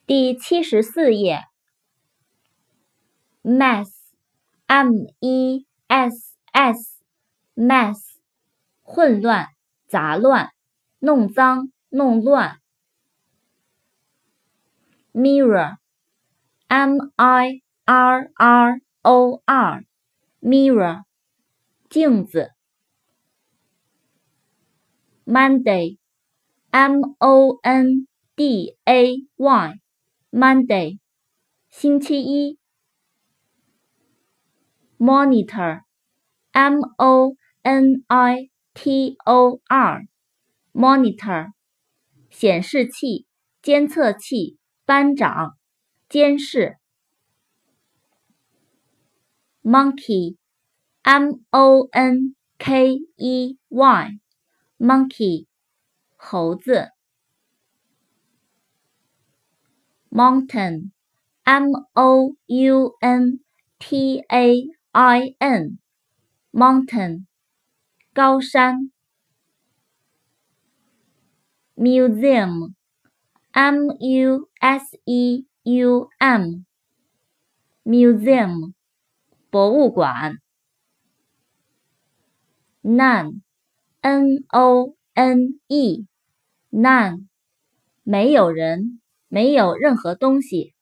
第74页 mess M-E-S-S mess 混乱杂乱弄脏弄乱 mirror M-I-R-R-O-R mirror 镜子 Monday M-O-N-D-A-Y Monday 星期一 Monitor M-O-N-I-T-O-R Monitor 显示器监测器班长监视 Monkey M-O-N-K-E-Y Monkey 猴子 Mountain M-O-U-N-T-A-I-N Mountain 高山 Museum M-U-S-E-U-M Museum 博物馆 None N-O-N-E None 没有人没有任何东西